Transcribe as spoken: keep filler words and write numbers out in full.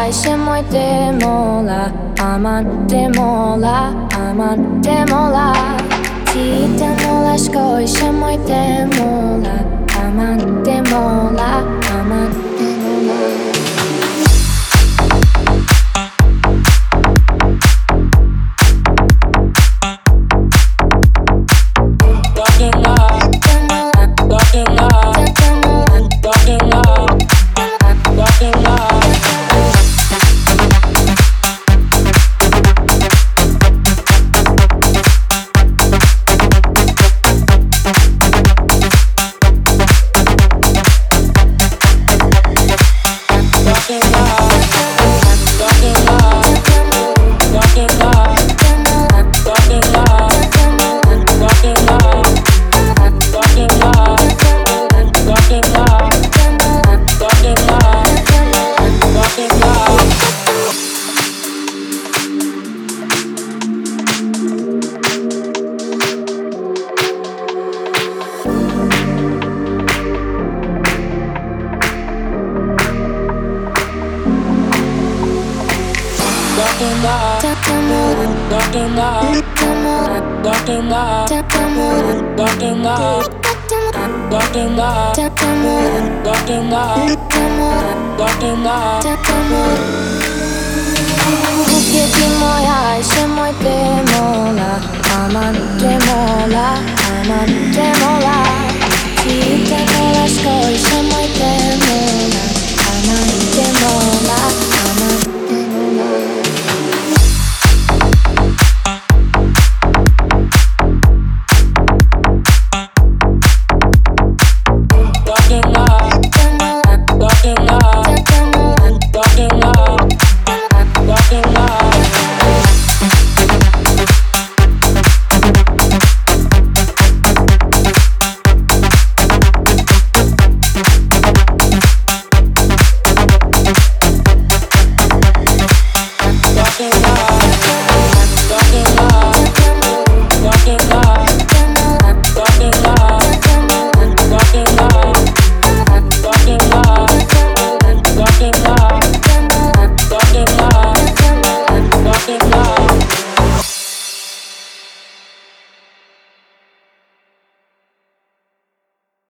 se moj te mola, aman te mola, aman te mola. Ti te mola shkoj se moj te mola, aman te mola, aman te mola. Kukie ti moja se moj te mola, aman te mola, aman te mola. Ti te mola shkoj se moj te mola, aman te mola.